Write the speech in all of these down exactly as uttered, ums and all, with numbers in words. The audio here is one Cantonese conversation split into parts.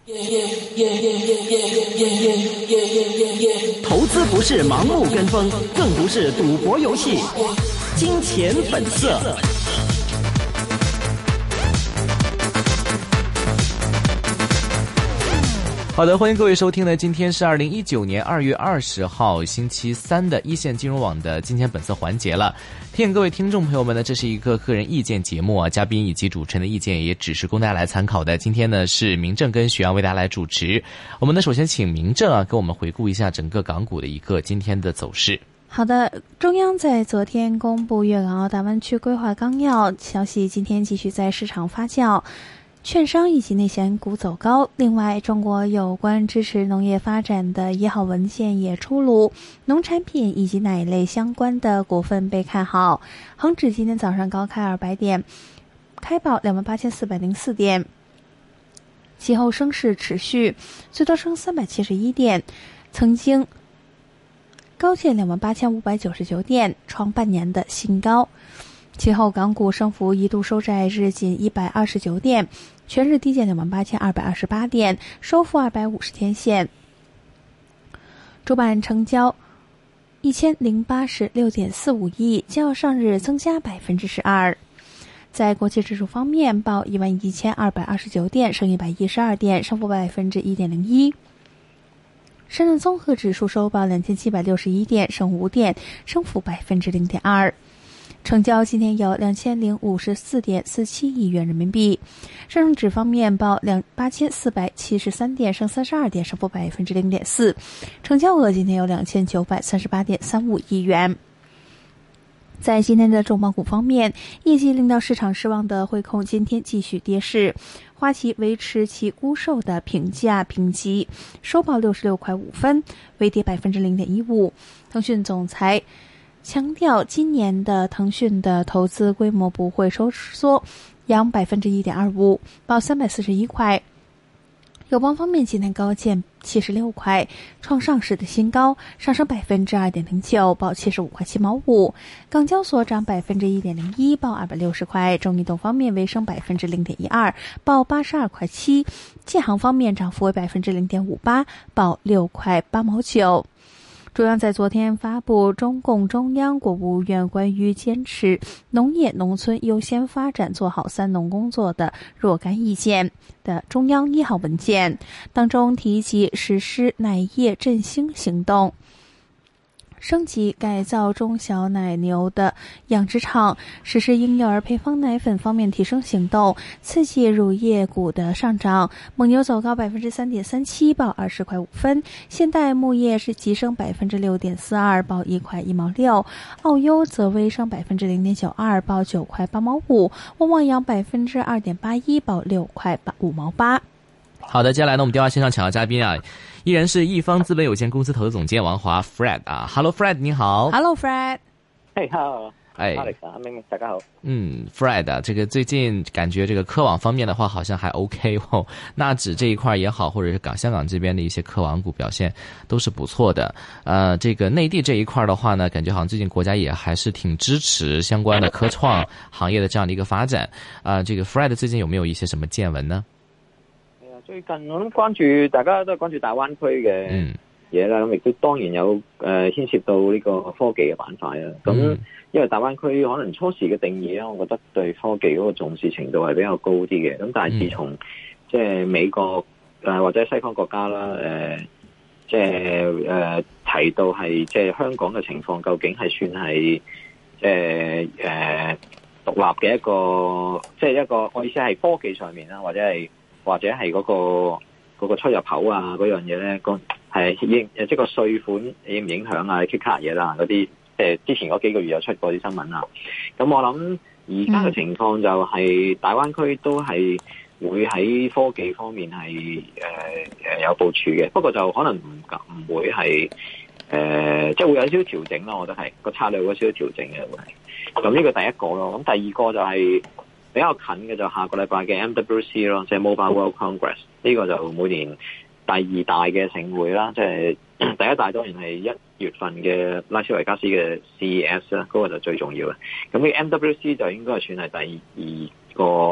投资不是盲目跟风，更不是赌博游戏。金钱本色。好的，欢迎各位收听呢，今天是二零一九年二月二十号星期三的一线金融网的金钱本色环节了。提醒各位听众朋友们呢，这是一个个人意见节目啊，嘉宾以及主持人的意见也只是供大家来参考的。今天呢是明正跟许阳为大家来主持。我们呢首先请明正啊，给我们回顾一下整个港股的一个今天的走势。 好的，中央在昨天公布粤港澳大湾区规划纲要消息，今天继续在市场发酵。券商以及内险股走高，另外中国有关支持农业发展的一号文件也出炉，农产品以及奶类相关的股份被看好。恒指今天早上高开二百点，开报两万八千四百零四点，其后升势持续，最多升三百七十一点，曾经高见两万八千五百九十九点，创半年的新高。其后港股升幅一度收在日仅一百二十九点，全日低见两万八千二百二十八点，收复二百五十天线。主板成交一千零八十六点四五亿，较上日增加百分之十二。在国际指数方面，报一万一千二百二十九点，升一百一十二点，升幅百分之一点零一。深圳综合指数收报两千七百六十一点，升五点，升幅百分之零点二。成交今天有两千零五十四点四七亿元人民币。上证指方面报两八千四百七十三点，升三十二点，升幅百分之零点四。成交额今天有两千九百三十八点三五亿元。在今天的重磅股方面，业绩令到市场失望的汇控今天继续跌势，花旗维持其沽售的评价评级，收报六十六块五分，微跌百分之零点一五。腾讯总裁强调，今年的腾讯的投资规模不会收缩，扬百分之一点二五，报三百四十一块。友邦方面今天高见七十六块，创上市的新高，上升百分之二点零九，报七十五块七毛五。港交所涨百分之一点零一，报二百六十块。中移动方面微升百分之零点一二，报八十二块七。建行方面涨幅为百分之零点五八，报六块八毛九。中央在昨天发布中共中央国务院关于坚持农业农村优先发展做好三农工作的若干意见的中央一号文件，当中提及实施奶业振兴行动，升级改造中小奶牛的养殖场，实施婴幼儿配方奶粉方面提升行动，刺激乳业股的上涨。蒙牛走高百分之三点三七，报二十块五分；现代牧业是急升百分之六点四二，报一块一毛六；奥优则微升百分之零点九二，报九块八毛五；旺旺扬百分之二点八一，报六块八五毛八。 好的，接下来呢，我们电话线上抢到嘉宾啊，依然是易方资本有限公司投资总监王华 Fred 啊 ，Hello Fred， 你好。 Hello Fred。 嘿 ，Hello。 哎 ，Alex 啊，明明大家好。 嗯 ，Fred 啊，这个最近感觉这个科网方面的话好像还 OK 哦，纳指这一块也好，或者是港香港这边的一些科网股表现都是不错的。呃，这个内地这一块的话呢，感觉好像最近国家也还是挺支持相关的科创行业的这样的一个发展。啊、呃，这个 Fred 最近有没有一些什么见闻呢？ 最近我諗關注，大家都係關注大灣區嘅嘢啦，咁亦都當然有誒、呃、牽涉到呢個科技嘅板塊啦。咁、嗯、因為大灣區可能初時嘅定義咧，我覺得對科技嗰個重視程度係比較高啲嘅。咁但係自從、嗯、即係美國誒、呃、或者西方國家啦，誒、呃、即係誒、呃、提到係即係香港嘅情況，究竟係算係即係誒獨立嘅一個，即係一個我意思係科技上面啦，或者係。或者係嗰、那個嗰、那個出入口啊嗰樣嘢咧，個係影即係個稅款影唔影響啊？kick 卡嘢啦嗰啲，即係之前嗰幾個月有出過啲新聞啦。咁我諗而家嘅情況就係大灣區都係會喺科技方面係誒誒有部署嘅，不過就可能唔唔會係誒、呃，即係會有少少調整咯。我覺得係個策略會有少少調整嘅會係。咁呢個第一個咯，咁第二個就係、是。比較近嘅就下個禮拜嘅 M W C 咯，即係 Mobile World Congress，呢個就每年第二大嘅盛會啦，即係第一大當然係一月份嘅拉斯維加斯嘅 C E S 啦，嗰個就最重要嘅。咁呢 M W C 就應該係算係第二個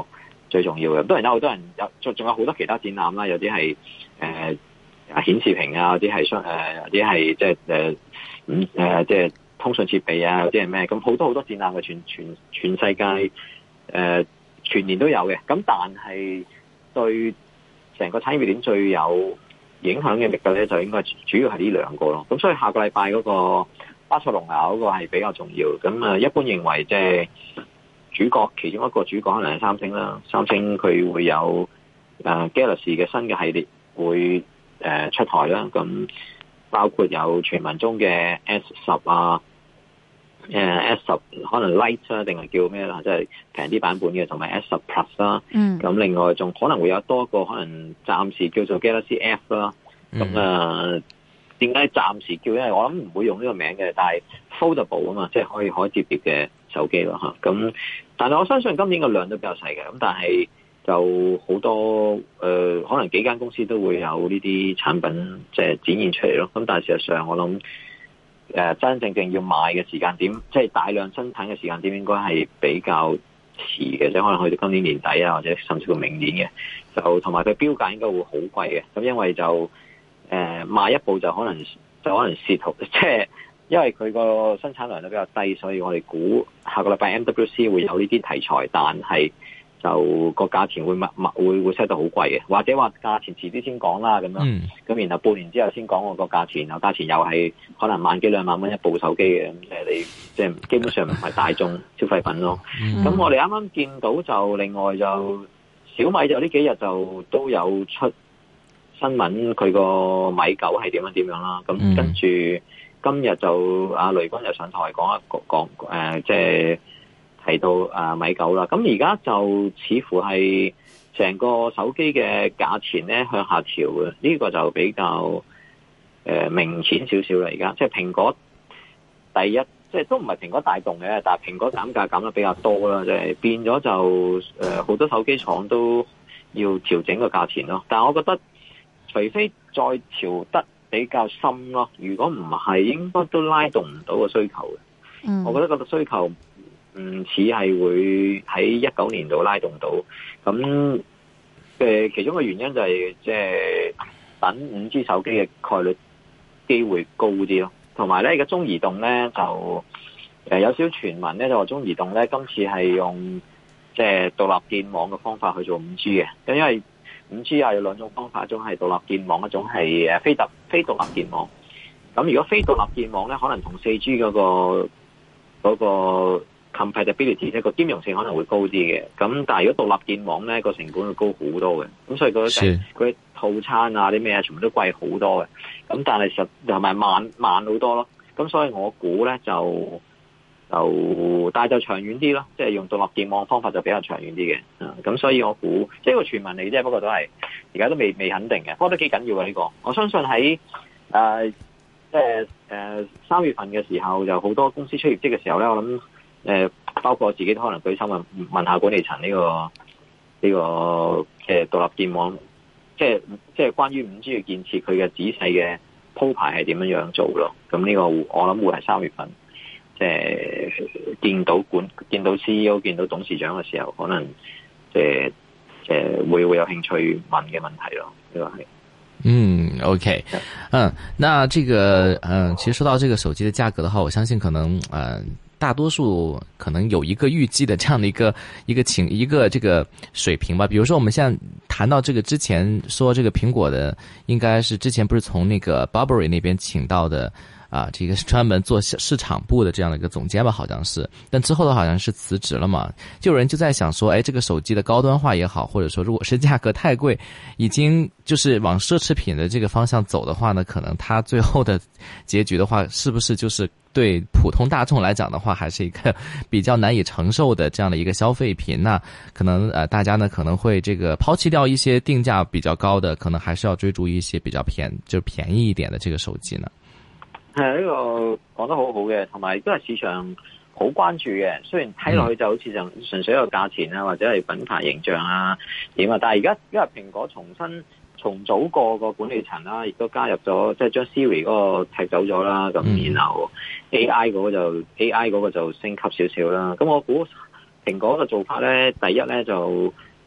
最重要嘅。當然有好多人有，仲仲有好多其他展覽啦，有啲係誒顯示屏啊，有啲係商誒，有啲係即係誒嗯誒即係通訊設備啊，有啲係咩？咁好多好多展覽嘅，全全全世界誒、呃、全年都有嘅。咁但係對成個產業鏈最有影響嘅力嘅咧，就應該主要係呢兩個咯。咁所以下個禮拜嗰個巴塞隆拿嗰個係比較重要。咁啊，一般認為即係主角其中一個主角可能係三星啦。三星佢會有誒 Galaxy 嘅新嘅系列會誒出台啦。咁包括有傳聞中嘅 S 十啊，誒 S 十可能 Lite 啊，定係叫咩啦？即係平啲版本嘅，同埋 S 十 Plus 啦。嗯。咁另外仲可能會有多個可能暫時叫做 Galaxy F 啦。咁啊，點解暫時叫？因為我諗唔會用呢個名嘅，但係 foldable 啊嘛，即係可以可以摺疊嘅手機咯嚇。咁但係我相信今年個量都比較細嘅。咁但係就好多誒、呃，可能幾間公司都會有呢啲產品即係展現出嚟咯。咁但係事實上我諗誒、呃、真真正正要賣嘅時間點，即係大量生產嘅時間點，應該係比較遲嘅，即係可能去到今年年底啊，或者甚至乎明年嘅。就同埋佢標價應該會好貴嘅。咁因為就誒賣一部就可能就可能蝕頭，即係因為佢個生產量都比較低，所以我哋估下個禮拜 M W C 會有呢啲題材，但係就個價錢會密密會會 set 到好貴嘅，或者話價錢遲啲先講啦咁樣，咁、嗯、然後半年之後先講我個價錢，然後價錢又係可能萬幾兩萬蚊一部手機嘅，咁即係你即係基本上唔係大眾消費品咯。咁、嗯、我哋啱啱見到就另外就小米就呢幾日就都有出新聞，佢個米九係點樣點樣啦。咁、嗯、跟住今日就阿雷軍就上台講一個講誒，即係提到啊米九啦。咁而家就似乎係成個手機嘅價錢咧向下調嘅，呢、這個就比較誒、呃、明顯少少啦。而家即係蘋果第一，即係都唔係蘋果帶動嘅，但係蘋果減價減得比較多啦，即係變咗就誒好、呃、多手機廠都要調整個價錢咯。但係我覺得，除非再調得比較深咯，如果唔係，應該都拉動唔到個需求嘅。嗯，我覺得個需求唔似係會喺一九年度拉動到。咁嘅其中嘅原因就係即係等五 G 手機嘅概率機會高啲咯。同埋咧，而家中移動咧就誒有少少傳聞咧，就話中移動咧今次係用即係獨立建網嘅方法去做五 G 嘅，因為五 G 啊有兩種方法，一種係獨立建網，一種係誒非特非獨立建網。咁如果非獨立建網咧，可能同四 G 嗰個嗰個 compatibility 即係個兼容性可能會高啲嘅。咁但係如果獨立建網咧，個成本會高好多嘅。咁所以佢佢套餐啊啲咩啊，全部都貴好多嘅。咁但係實同埋慢慢好多咯。咁所以我估咧就就但係就長遠啲咯，即係用獨立建網方法就比較長遠啲嘅。咁、嗯、所以我估即係個傳聞嚟啫，不過都係而家都未未肯定嘅。不過都幾緊要嘅呢、這個。我相信喺誒即係誒三月份嘅時候，就好多公司出業績嘅時候咧，我諗誒、呃、包括我自己都可能舉手問問下管理層呢、這個呢、這個嘅獨、呃、立建網，即係即係關於五 G 嘅建設，佢嘅仔細嘅鋪排係點樣樣做咯。咁呢個我諗會係三月份。即係見到管見到 C E O 見到董事長嘅時候，可能即係即係會會有興趣問嘅問題咯，呢個係。 嗯 ，OK， 嗯，那這個嗯，其實說到這個手機的價格的話，我相信可能嗯，大多數可能有一個預計的這樣的一個一個情一個這個水平吧。比如說我們現在談到這個之前說這個蘋果的，應該是之前不是從那個 Burberry 那邊請到的。啊，這個是專門做市場部的這樣的一個總監吧，好像是，但之後的好像是辭職了嘛。就有人就在想說，哎，這個手機的高端化也好，或者說如果是價格太貴，已經就是往奢侈品的這個方向走的話呢，可能它最後的結局的話，是不是就是對普通大眾來講的話，還是一個比較難以承受的這樣的一個消費品？那可能呃，大家呢可能會這個拋棄掉一些定價比較高的，可能還是要追逐一些比較便就便宜一點的這個手機呢？ 係呢個講得好好嘅，同埋都係市場好關注嘅。雖然睇落去就好似就純粹一個價錢啊，或者係品牌形象啊點啊，但係而家因為蘋果重新重組過個管理層啦，亦都加入咗即係將 Siri 嗰個踢走咗啦，咁、嗯、然後 A I 嗰個就 A I 嗰個就升級少少啦。咁我估蘋果嘅做法咧，第一咧就誒、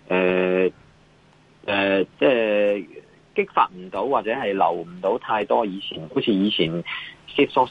誒誒即係激發唔到或者係留唔到太多以前好似以前 Steve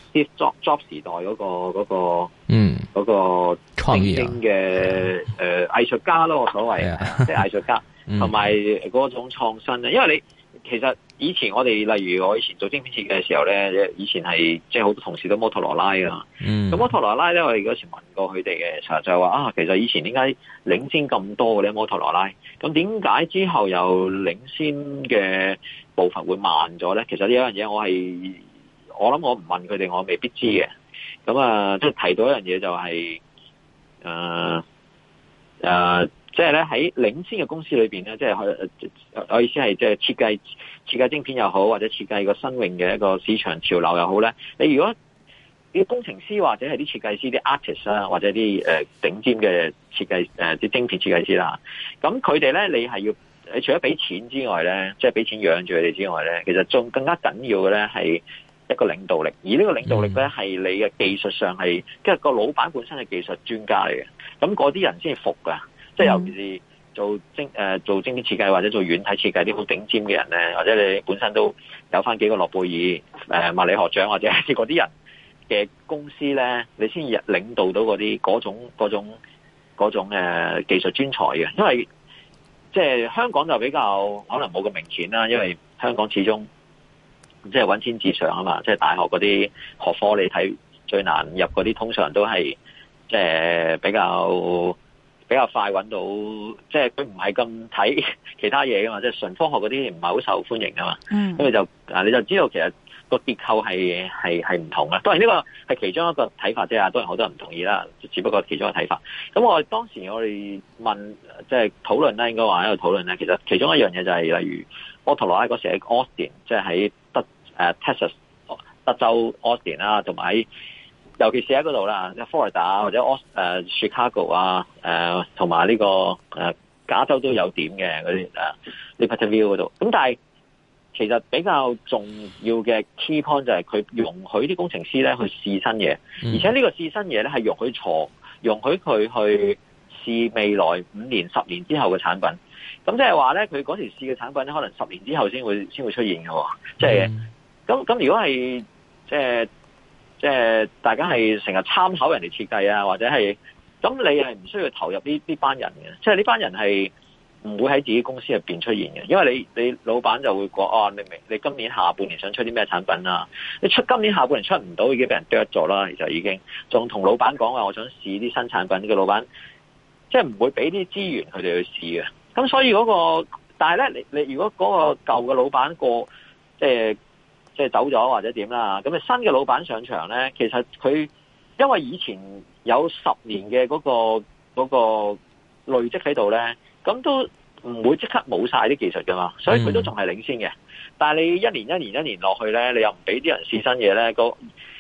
Jobs 時代嗰個嗰個嗯嗰個創意嘅誒藝術家咯，我所謂即係藝術家同埋嗰種創新咧，因為你。其實以前我哋例如我以前做晶片設計嘅時候咧，以前係即係好多同事都摩托羅拉啊。咁摩托羅拉咧，我哋嗰時問過佢哋嘅，就就係話啊，其實以前點解領先咁多嘅咧摩托羅拉？咁點解之後又領先嘅步伐會慢咗咧？其實呢一樣嘢我係我諗我唔問佢哋，我未必知嘅。咁啊，即係提到一樣嘢就係誒誒。即係咧喺領先嘅公司裏邊咧，即係我我意思係即係設計設計晶片又好，或者設計個新穎嘅一個市場潮流又好咧。你如果啲工程師或者係啲設計師啲 artist 啊，或者啲誒頂尖嘅設計誒啲晶片設計師啦，咁佢哋咧你係要你除咗俾錢之外咧，即係俾錢養住佢哋之外咧，其實仲更加緊要嘅咧係一個領導力。而呢個領導力咧係你嘅技術上係即係個老闆本身係技術專家嚟嘅，咁嗰啲人先係服噶。即係尤其是做晶誒、呃、做晶片設計或者做軟體設計啲好頂尖嘅人咧，或者你本身都有翻幾個諾貝爾誒物理學獎或者係嗰啲人嘅公司咧，你先至領導到嗰啲嗰種嗰種嗰種誒、呃、技術專才嘅。因為即係香港就比較可能冇咁明顯啦，因為香港始終即係揾錢至上啊嘛，即係大學嗰啲學科你睇最難入嗰啲，通常都係即係比較。比較快揾到，即係佢唔係咁睇其他嘢噶嘛，即係純科學嗰啲唔係好受歡迎噶嘛。嗯，咁你就啊，你就知道其實個結構係係係唔同嘅。當然呢個係其中一個睇法啫，當然好多人唔同意啦，只不過其中一個睇法。咁我當時我哋問即係討論咧，應該話喺度討論咧，其實其中一樣嘢就係、是、例如摩托羅拉嗰時喺 Austin， 即係喺德誒、呃、Texas 德州 Austin 啦，同埋喺。尤其是喺嗰度啦，即係佛羅里達或者奧誒 Chicago 啊，誒同埋呢個誒、呃、加州都有點嘅嗰啲誒 Libertyville 嗰度。咁但係其實比較重要嘅 key point 就係佢容許啲工程師咧去試新嘢，而且呢個試新嘢咧係容許錯，容許佢去試未來五年、十年之後嘅產品。咁即係話咧，佢嗰時試嘅產品咧，可能十年之後先會先會出現嘅。即係咁咁，如果係即係。即係大家係成日參考人哋設計啊，或者係咁，你係唔需要投入呢呢班人嘅。即係呢班人係唔會喺自己公司入邊出現嘅，因為你你老闆就會講哦，你明你今年下半年想出啲咩產品啊？你出今年下半年出唔到，已經俾人剁咗啦。其實已經仲同老闆講話，我想試啲新產品。呢個老闆即係唔會俾啲資源佢哋去試嘅。咁所以嗰個，但係咧，你你如果嗰個舊嘅老闆過即係。即係走咗或者點啦，咁啊新嘅老闆上場咧，其實佢因為以前有十年嘅嗰個嗰個累積喺度咧，咁都唔會即刻冇晒啲技術噶嘛，所以佢都仲係領先嘅。嗯、但係你一年一年一年落去咧，你又唔俾啲人試新嘢咧，個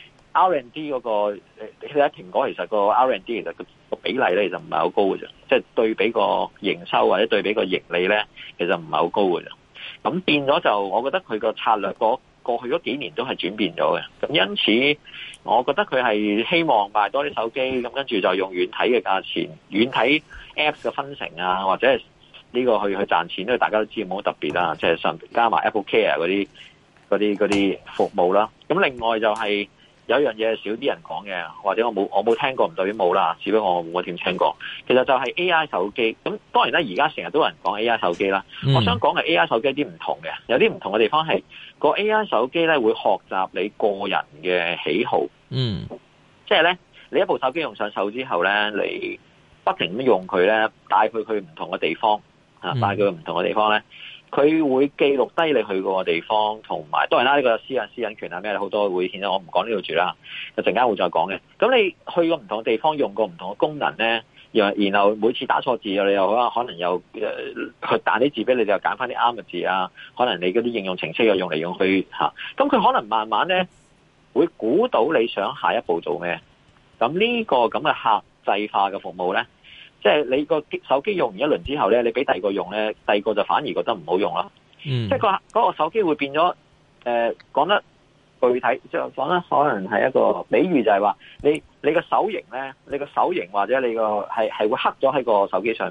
R and D 嗰個你睇蘋果其實個 R and D 其實個比例咧其實唔係好高嘅啫，即係對比個營收或者對比個盈利咧，其實唔係好高嘅啫。咁變咗就，我覺得佢個策略個。過去嗰幾年都係轉變咗嘅，咁因此我覺得佢係希望賣多啲手機，咁跟住就用軟體嘅價錢、軟體 Apps 嘅分成啊，或者係呢個去去賺錢，因為大家都知冇乜特別啦，即係上加埋 Apple Care 嗰啲嗰啲嗰啲服務啦。咁另外就係有一樣嘢少啲人講嘅，或者我冇我冇聽過，唔代表冇啦，只不過我冇點聽過。其實就係 A I 手機，咁當然啦，而家成日都有人講 A I 手機啦。嗯、我想講嘅 A I 手機有啲唔同嘅，有啲唔同嘅地方係個 A I 手機咧會學習你個人嘅喜好。嗯，即係咧，你一部手機用上手之後咧，你不停咁用佢咧，帶佢去唔同嘅地方啊，帶佢去唔同嘅地方咧。佢會記錄低你去過嘅地方，同埋當然啦，呢個私隱私隱權啊咩好多會顯，我唔講呢度住啦，就陣間會再講嘅。咁你去過唔同嘅地方，用過唔同嘅功能咧，然然後每次打錯字，你又可能又誒佢彈啲字俾你，就揀翻啲啱嘅字啊。可能你嗰啲應用程式又用嚟用去嚇，咁佢可能慢慢咧會估到你想下一步做咩。咁呢個咁嘅客製化嘅服務咧。即係你個手機用完一輪之後咧，你俾第二個用咧，第二個就反而覺得唔好用啦。嗯，即係個嗰個手機會變咗誒，講得具體，即係講得可能係一個比喻，就係話你你個手型咧，你個手型或者你個係係會刻咗喺個手機上面咯。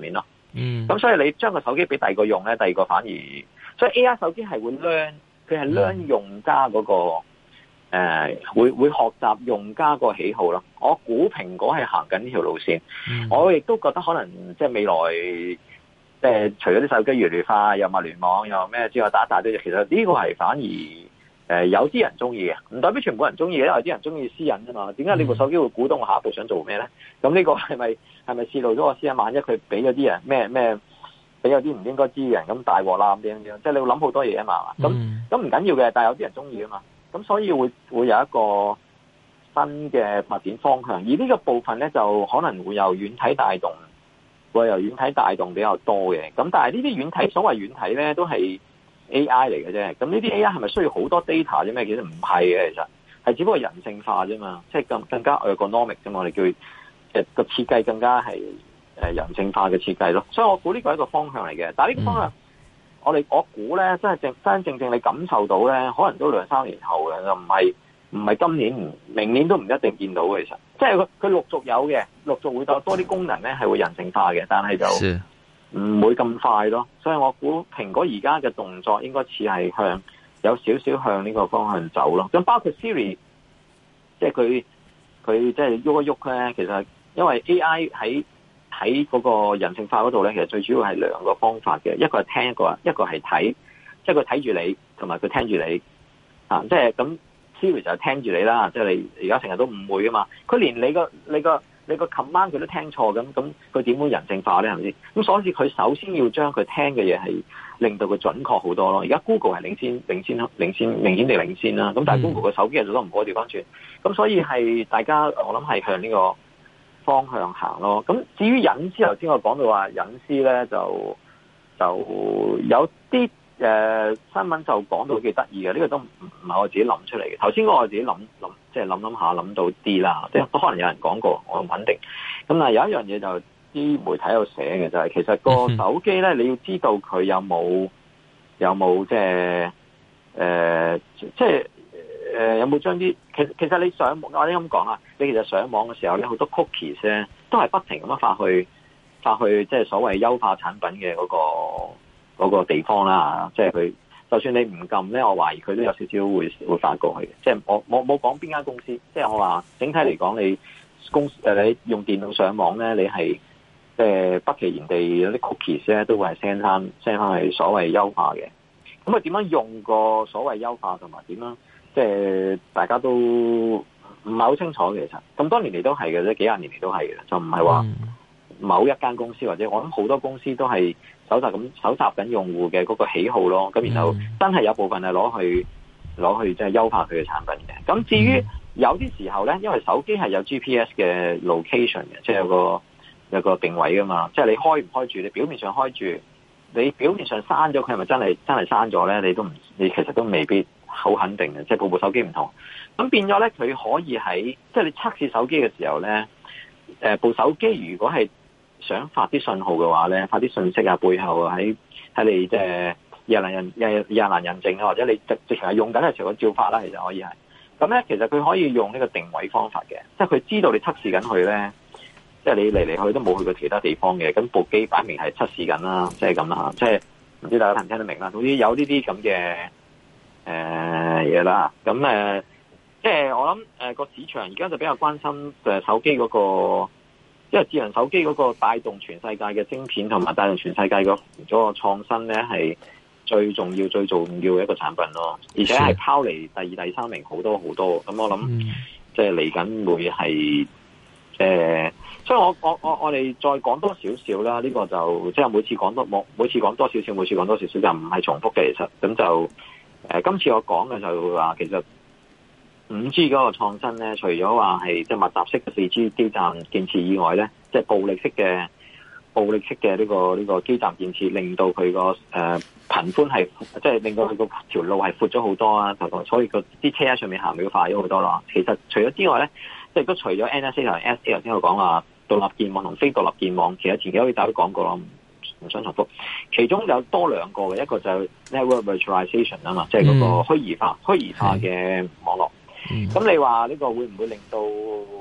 嗯， 咁所以你將個手機俾第二個用咧，第二個反而，所以 A I 手機係會 learn，佢係 learn 用家嗰、那個誒、呃，會會學習用家個喜好咯。我估蘋果係行緊呢條路線，嗯、我亦都覺得可能即係未來。即係除咗啲手機越嚟越快，又物聯網又咩之外，打一大堆嘢。其實呢個係反而誒、呃、有啲人中意嘅，唔代表全部人中意嘅，因為有啲人中意私隱啊嘛。點解你部手機會估到我下一步想做咩咧？咁呢個係咪係咪泄露咗我私隱？萬一佢俾咗啲人咩咩，俾咗啲唔應該知嘅人咁大鑊啦咁樣樣，即係你會諗好多嘢啊嘛。咁咁唔緊要嘅，但係有啲人中意啊嘛。咁所以會會有一個新嘅發展方向，而呢個部分咧就可能會由軟體帶動。會由軟體帶動比較多嘅，咁但係呢啲軟體所謂軟體咧都係 A I 嚟嘅啫，咁呢啲 A I 係咪需要好多 data 啫咩？其實唔係嘅，其實係只不過人性化啫嘛，即係更更加 ergonomic 啫嘛，我哋叫誒個設計更加係誒人性化嘅設計咯，所以我估呢個係一個方向嚟嘅，但係呢個方向、嗯、我哋我估咧真係正真正正你感受到咧，可能都兩三年後嘅，就唔係唔係今年，明年都唔一定見到嘅，其實即係佢佢陸續有嘅，陸續會有多啲功能咧，係會人性化嘅，但係就唔會咁快咯。所以我估蘋果而家嘅動作應該似係向有少少向呢個方向走咯。咁包括 Siri， 即係佢佢即係喐一喐咧，其實因為 A I 喺喺嗰個人性化嗰度咧，其實最主要係兩個方法嘅，一個係聽，一個一個係睇，即係佢睇住你，同埋佢聽住你啊，即係咁。Siri 就係聽住你啦，即係你而家成日都誤會啊嘛，佢連你個你個你個 command 佢都聽錯，咁咁佢點會人性化咧？係咪先？咁所以佢首先要將佢聽嘅嘢係令到佢準確好多咯。而家 Google 係領先領先領先明顯地領先啦，咁但係 Google 個手機係做得唔好，調翻轉，咁所以係大家我諗係向呢個方向行咯。咁至於隱私，頭先我講到話隱私咧，就就有啲。誒、呃、新聞就講到幾得意嘅，呢、這個都唔唔係我自己諗出嚟嘅。頭先我自己諗諗，即係諗諗下諗到啲啦，即係都可能有人講過，我唔肯定。咁但係有一樣嘢就啲媒體有寫嘅，就係、是、其實個手機咧，你要知道佢有冇有冇即係誒，即係誒有冇將啲其實其實你上網，我哋咁講啊，你其實上網嘅時候咧，好多 cookies 咧都係不停咁樣發去發去，即係所謂優化產品嘅嗰、那個。嗰個地方啦，即係佢，就算你唔撳咧，我懷疑佢都有少少會會發過去嘅。即係我我冇講邊間公司，即係我話整體嚟講，你公誒你用電腦上網咧，你係即係不其然地有啲 cookies 咧，都會係 send 翻 send 翻係所謂優化嘅。咁啊點樣用個所謂優化同埋點樣？即係大家都唔係好清楚嘅。其實咁多年嚟都係嘅啫，幾廿年嚟都係嘅，就唔係話某一間公司或者我諗好多公司都係。搜集咁搜集緊用戶嘅嗰個喜好咯，咁然後真係有部分係攞去攞去即係優化佢嘅產品嘅。咁至於有啲時候咧，因為手機係有 G P S 嘅 location 嘅，即係有個有個定位噶嘛。即係你開唔開住，你表面上開住，你表面上刪咗佢係咪真係真係刪咗咧？你都唔，你其實都未必好肯定嘅。即係部部手機唔同，咁變咗咧，佢可以喺即係你測試手機嘅時候咧，誒部手機如果係想發啲信號嘅話咧，發啲信息啊，背後喺喺你即係廿難人廿廿難人證啊，或者你直直情係用緊嘅時候嘅照發啦，其實可以係。咁咧，其實佢可以用呢個定位方法嘅，即係佢知道你測試緊佢咧，即係你嚟嚟去都冇去過其他地方嘅，咁部機擺明係測試緊啦，即係咁啦，即係唔知大家聽唔聽得明啦。總之有呢啲咁嘅誒嘢啦，咁誒、呃，即係我諗誒個市場而家就比較關心誒手機嗰個。因為智能手機嗰個帶動全世界嘅晶片同埋帶動全世界個嗰個創新咧，係最重要、最重要嘅一個產品咯。而且係拋離第二、第三名好多好多。咁我諗，即係嚟緊會係誒，所以我我我我哋再講多少少啦。呢個就即係每次講多冇，每次講多少少，每次講多少少就唔係重複嘅。其實咁就誒，今次我講嘅就話其實。五 G 嗰個創新咧，除咗話係即係密集式嘅四 G 基站建設以外咧，即係暴力式嘅暴力式嘅呢個呢個基站建設，令到佢個誒頻寬係即係令到佢個條路係闊咗好多啊！所以個啲車喺上面行會快咗好多咯。其實除咗之外咧，即係都除咗 N S A 同 S A 頭先我講話獨立鍵網同非獨立鍵網，其實前幾日大家都講過咯，唔想重複。其中有多兩個嘅，一個就 network virtualization 啊嘛，即係嗰個虛擬化、虛擬化嘅網絡。咁、嗯、你話呢個會唔會令到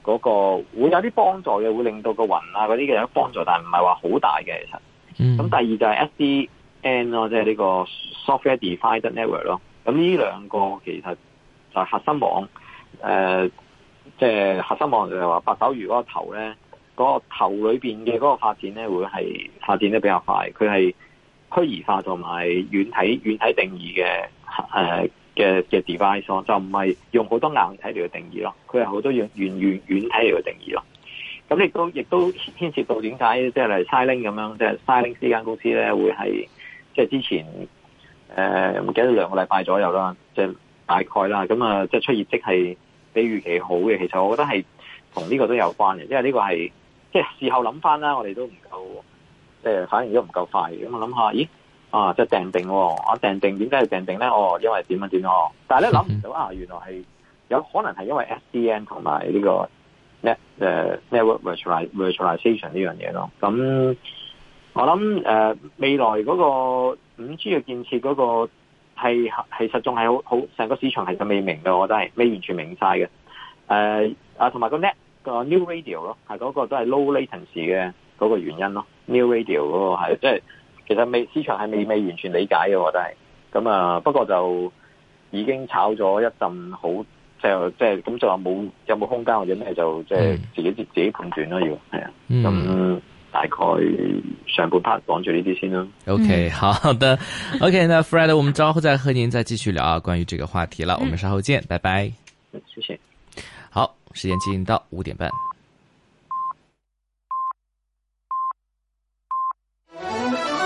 嗰個會有啲幫助嘅，會令到個雲啊嗰啲嘅有幫助，但係唔係話好大嘅其實。咁、嗯、第二就係 S D N 咯，即係呢個 Software Defined Network 咯。咁呢兩個其實就係核心網，誒、呃，即、就、係、是、核心網就係話八爪魚嗰個頭咧，嗰、那個頭裏邊嘅嗰個發展咧，會係發展得比較快。佢係虛擬化同埋軟體軟體定義嘅誒嘅嘅 device 咯，就唔係用好多硬體嚟去定義咯，佢係好多軟軟軟軟體嚟去定義咯。咁亦都亦都牽涉到點解即係例如 Xilinx 咁樣，即係 Xilinx 呢間公司咧會係即係之前誒唔記得兩個禮拜左右啦，即係大概啦，咁啊即係出業績係比預期好嘅。其實我覺得係同呢個都有關嘅，因為呢個係即係事後諗翻啦，我哋都唔夠即係反應都唔夠快嘅。咁我諗下，咦啊即係訂定，我訂定點解要訂定咧？哦，因為點樣點樣，但係咧諗唔到啊，原來係有可能係因為 S D N 同埋呢個。net 誒 network virtualization 呢樣嘢咯，咁我諗誒、呃、未來嗰個五 G 嘅建設嗰個係係實仲係好好成個市場係就未明嘅，我覺得係未完全明晒嘅。誒、呃、啊同埋個 net 個 new radio 咯，係嗰個都係 low latency 嘅嗰個原因咯。new radio 嗰個係即係其實未市場係未未完全理解嘅，我覺得係咁啊。不過就已經炒咗一陣好。即係即係咁就話冇有冇空間或者咩就即係自己自己判斷咯，要係啊。咁、嗯、大概上半 part 講住呢啲先啦。 OK， 好的。OK， 那 Fred， 我們稍後再和您再繼續聊啊，關於這個話題了。我們稍後見，拜拜。 謝謝。 好，時間進行到五點半。